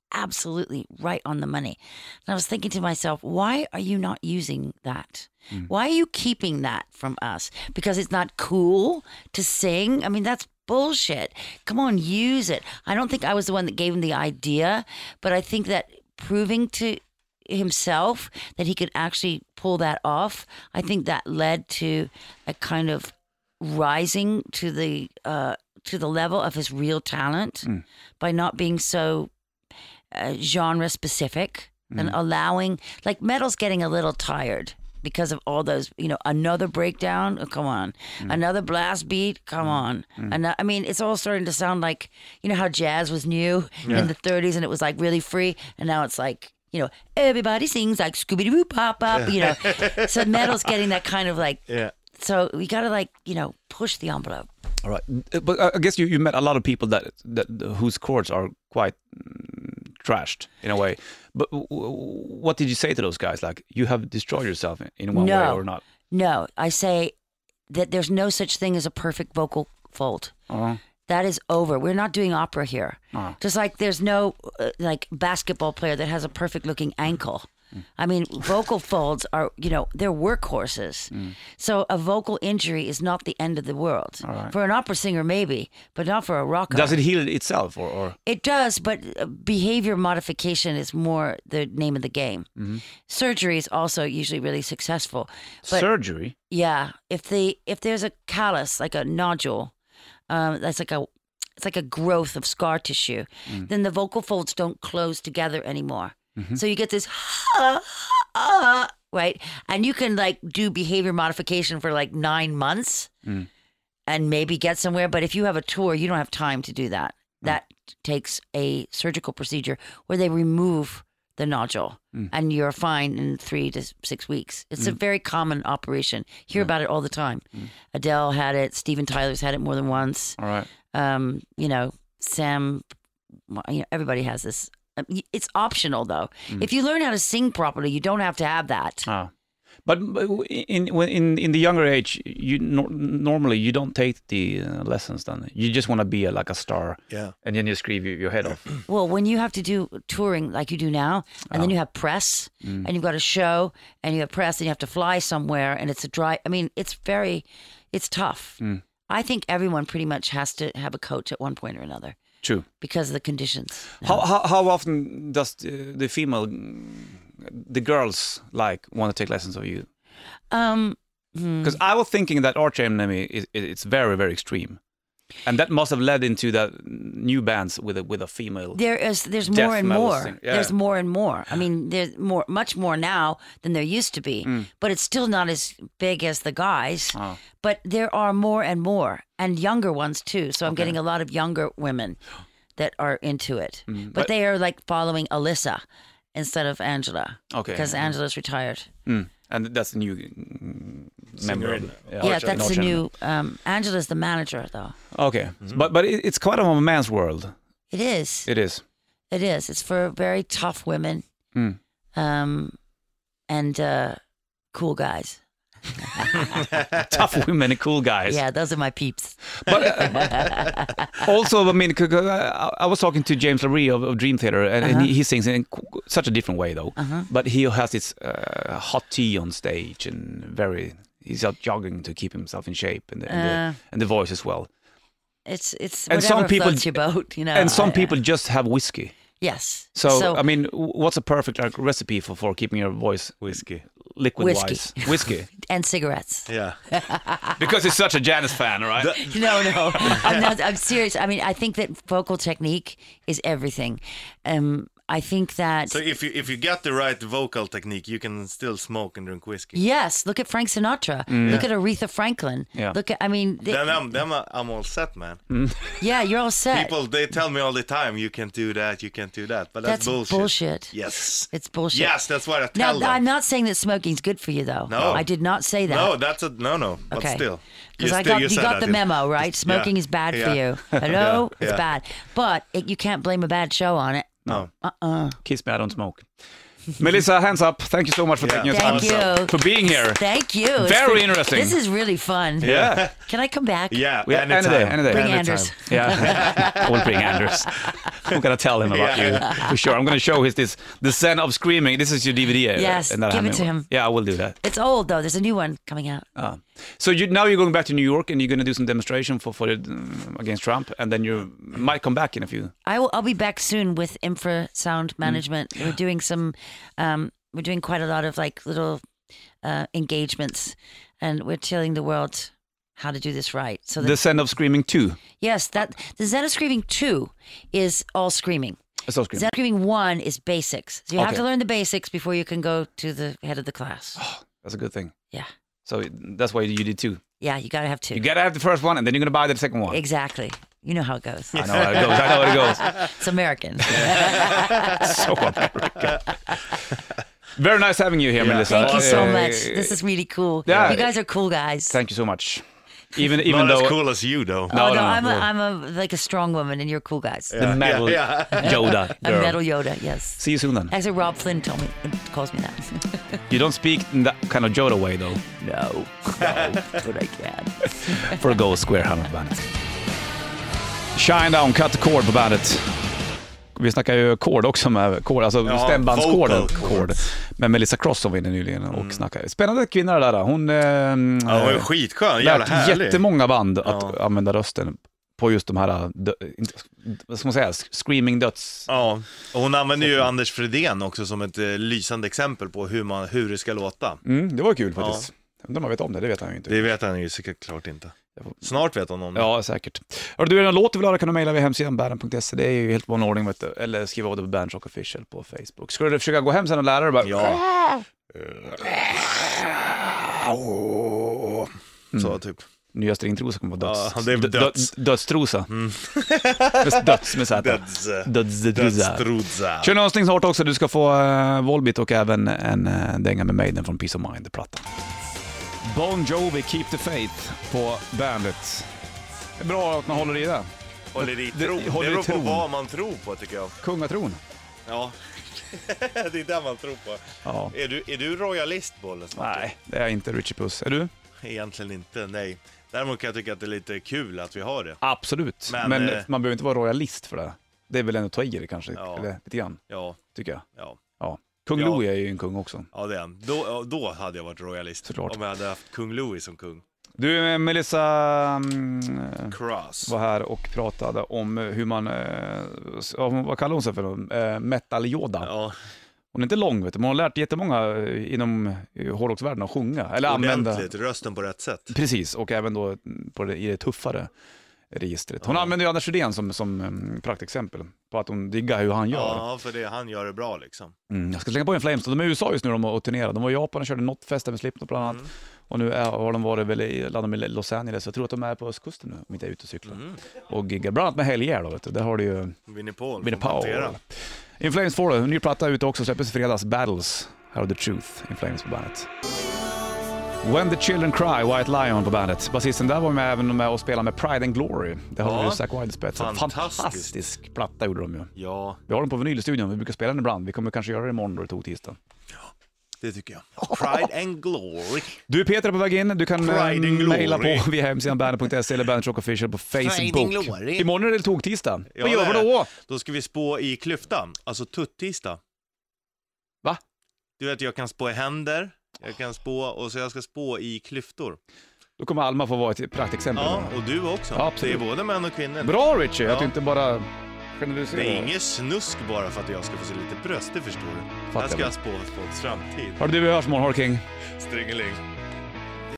absolutely right on the money. And I was thinking to myself, why are you not using that? Why are you keeping that from us? Because it's not cool to sing? I mean, that's bullshit. Come on, use it. I don't think I was the one that gave him the idea, but I think that proving to himself that he could actually pull that off, I think that led to a kind of rising to the level of his real talent by not being so genre specific and allowing, like, metal's getting a little tired because of all those, another breakdown, oh, come on, another blast beat, come on. I mean, it's all starting to sound like, how jazz was new in the 30s and it was like really free, and now it's like, everybody sings like Scooby-Doo pop up, So metal's getting that kind of like, so we got to push the envelope. All right, but I guess you met a lot of people that whose chords are quite trashed in a way. But what did you say to those guys? Like, you have destroyed yourself in one way or not? No, I say that there's no such thing as a perfect vocal fold. That is over. We're not doing opera here. Just like there's no basketball player that has a perfect looking ankle. I mean, vocal folds are, they're workhorses. So a vocal injury is not the end of the world. Right. For an opera singer, maybe, but not for a rocker. Does it heal itself? Or? It does, but behavior modification is more the name of the game. Surgery is also usually really successful. But, surgery? Yeah. If there's a callus, like a nodule, it's like a growth of scar tissue, then the vocal folds don't close together anymore. So you get this, right? And you can do behavior modification for 9 months and maybe get somewhere. But if you have a tour, you don't have time to do that. That takes a surgical procedure where they remove the nodule and you're fine in 3 to 6 weeks. It's a very common operation. Hear about it all the time. Adele had it. Steven Tyler's had it more than once. All right. Sam, everybody has this. It's optional, though. If you learn how to sing properly, you don't have to have that. But in the younger age, you normally you don't take the lessons. Then you just want to be a star, and then you scream your head off. Well, when you have to do touring like you do now, and then you have press, and you've got a show, and you have press, and you have to fly somewhere, and it's it's tough. I think everyone pretty much has to have a coach at one point or another. True. Because of the conditions. How often does the girls want to take lessons of you? Because I was thinking that Arch Enemy it's very, very extreme, and that must have led into that new bands with a female. There's more and more. Yeah. There's more and more. I mean, there's much more now than there used to be, but it's still not as big as the guys. But there are more and more, and younger ones too. So I'm getting a lot of younger women that are into it. But they are following Alyssa instead of Angela. Okay. Because Angela's retired. And that's the new member. That's the new. Angela's the manager, though. Okay, but it's quite a man's world. It is. It is. It is. It's for very tough women, and cool guys. Tough women and cool guys. Yeah, those are my peeps. But also, I mean, I was talking to James LaRue of Dream Theater, and he sings in such a different way, though. But he has this hot tea on stage, and he's out jogging to keep himself in shape, and the voice as well. It's and whatever some people, floats your boat, And some people just have whiskey. Yes. So I mean, what's a perfect recipe for keeping your voice liquid-wise? Whiskey. And cigarettes. Yeah. Because he's such a Janis fan, right? No. I'm serious. I mean, I think that vocal technique is everything. I think that... So if you get the right vocal technique, you can still smoke and drink whiskey. Yes. Look at Frank Sinatra. Look at Aretha Franklin. Yeah. Look at, I mean... Then I'm all set, man. Yeah, you're all set. People, they tell me all the time, you can't do that, you can't do that. But that's bullshit. Yes. It's bullshit. Yes, that's what I tell them. I'm not saying that smoking's good for you, though. No. I did not say that. No, that's no. But still. Because you got the memo, right? Smoking is bad for you. Hello? It's bad. But you can't blame a bad show on it. No. Kiss me, I don't smoke. Melissa, hands up. Thank you so much for taking your time. Thank you. For being here. Thank you. Very interesting. This is really fun. Yeah. Can I come back? Yeah, Yeah, any day, any day. Bring Anytime. Anders. Yeah, I will bring Anders. I'm gonna tell him about you for sure. I'm gonna show the Zen of Screaming. This is your DVD. Yes, and that give it Hammy to one. him. Yeah, I will do that. It's old though. There's a new one coming out. So now you're going back to New York and you're gonna do some demonstration for against Trump, and then you might come back in a few. I'll be back soon with infrasound management. We're doing some. We're doing quite a lot of like little engagements, and we're telling the world how to do this right. So The Zen of Screaming 2. yes, that the Zen of Screaming 2 is all screaming. It's all screaming. Zen of Screaming 1 is basics. So you have Okay. to learn the basics before you can go to the head of the class. That's a good thing. Yeah. So that's why you did 2. Yeah, you gotta have two. You gotta have the first one, and then you're gonna buy the second one. Exactly. You know how it goes. I know how it goes. I know how it goes. It's American. So American. Very nice having you here, Melissa. Thank you so Uh, much. This is really cool. yeah. You guys are cool guys. Thank you so much. Even Not though as cool as you, though. No, oh, no, no. I'm like a strong woman, and you're cool guys. the metal Yoda A girl. metal Yoda, yes. See you soon then. Actually, Rob Flynn calls me that. You don't speak in that kind of Yoda way though. No, but I can. For a Go Square Hammer på bandet. Shine Down, Cut the Chord på bandet. Vi snackar ju kord också med kord, alltså stämbandskorden. vocal Kord. Men Melissa Cross som var inne nyligen och snackade. Spännande kvinna det där. Hon Ja, hon är skitskön, jävla lärt härlig. jättemånga band att använda rösten på just de här, vad ska man säga, screaming döds. Ja, och hon använder ju Anders Fredén också som ett lysande exempel på hur det ska låta. Det var kul faktiskt. Undrar om man vet om det vet han ju inte. Det vet han ju säkert klart inte. Snart vet hon om det. Ja, säkert. Hör du en låt du vill höra kan du mejla vid hemsidan banden.se. Det är ju helt vanlig ordning, vet du. Eller skriva av det på Bandit Rock Official på Facebook. Ska du försöka gå hem sen och lära dig bara... Ja. Så typ. Nya stringtrosa kommer vara döds. Ja, det är döds. Dödstrosa. Döds med Z. Dödstrosa. Dödstrosa. Kör någonting snart också. Du ska få Volbeat och även en dänga med Maiden från Peace of Mind-plattan. Bon Jovi, Keep the Faith på bandet. Det är bra att man håller i det. Håller i Det- tron. Det håller i beror på tron. vad man tror på, tycker jag. Kungatron. Ja. Det är det man tror på. Ja. Är du royalist, Bollen? Nej, det är inte Richie Puss. Är du? Egentligen inte, nej. Däremot kan jag tycka att det är lite kul att vi har det. Absolut. Men, Men, man behöver inte vara royalist för det. Det är väl ändå ta i det kanske, Ja. eller lite grann, Ja, tycker jag. ja. Ja. Kung Ja. Louis är ju en kung också. Ja, det är han. Då hade jag varit royalist. Såklart. Om jag hade haft kung Louis som kung. Du, Melissa Cross. var här och pratade om hur man, vad kallar hon sig för? Metal Yoda. Ja, Hon är inte lång, vet du, men hon har lärt jättemånga inom hårdrocksvärlden att sjunga. Eller använda. ordentligt. Rösten på rätt sätt. Precis, och även då i det tuffare registret. Hon använder ju Anders Rydén som praktexempel på att hon diggar hur han gör. Ja, för det han gör det bra liksom. Jag ska slänga på en Flames. De är i USA just nu och turnerar. De var i Japan och körde Notfesten med Slipknot bland annat. Och nu har de varit väl i landet med Los Angeles. Jag tror att de är på östkusten nu, om inte är ute och cyklar. Och giggar bland annat med Helger då, vet du. Där har du ju Vinnie Paul. Vinnie får Paul. montera. In Flames får du. En ny platta ute också. Släppes i fredags. Battles. How the Truth. In Flames på bandet. When the Children Cry, White Lion på bandet. Basisten där var även med och spelade med Pride and Glory. Det har ju Zack Wilde i spetsen. Fantastisk platta gjorde de ju. Ja, Vi har den på vinyl i studion. Vi brukar spela den ibland. Vi kommer kanske göra det imorgon då det tog tisdag. det tycker jag. Pride and Glory. Du Peter är på väg in. Du kan Pride and Glory. mejla på via hemsidan bandet.se eller Bandit Rock Official på Pride and Facebook. Glory. Imorgon är det tog-tisdag. Ja, Vad gör vi det är då? Då ska vi spå i klyftan. Alltså tuttisdag. Va? Du vet, jag kan spå i händer. Jag kan spå, och så jag ska spå i klyftor. Då kommer Alma få vara ett praktexempel. Ja, och du också. Ja, absolut. Det är både män och kvinnor. Bra Richie, Ja. att du inte bara Det generaliserar. är inget snusk bara för att jag ska få se lite bröst, det förstår du. Fattar Här ska jag. jag spå folks framtid. Har du, vi hörs imorgon, Har King. Stringeling.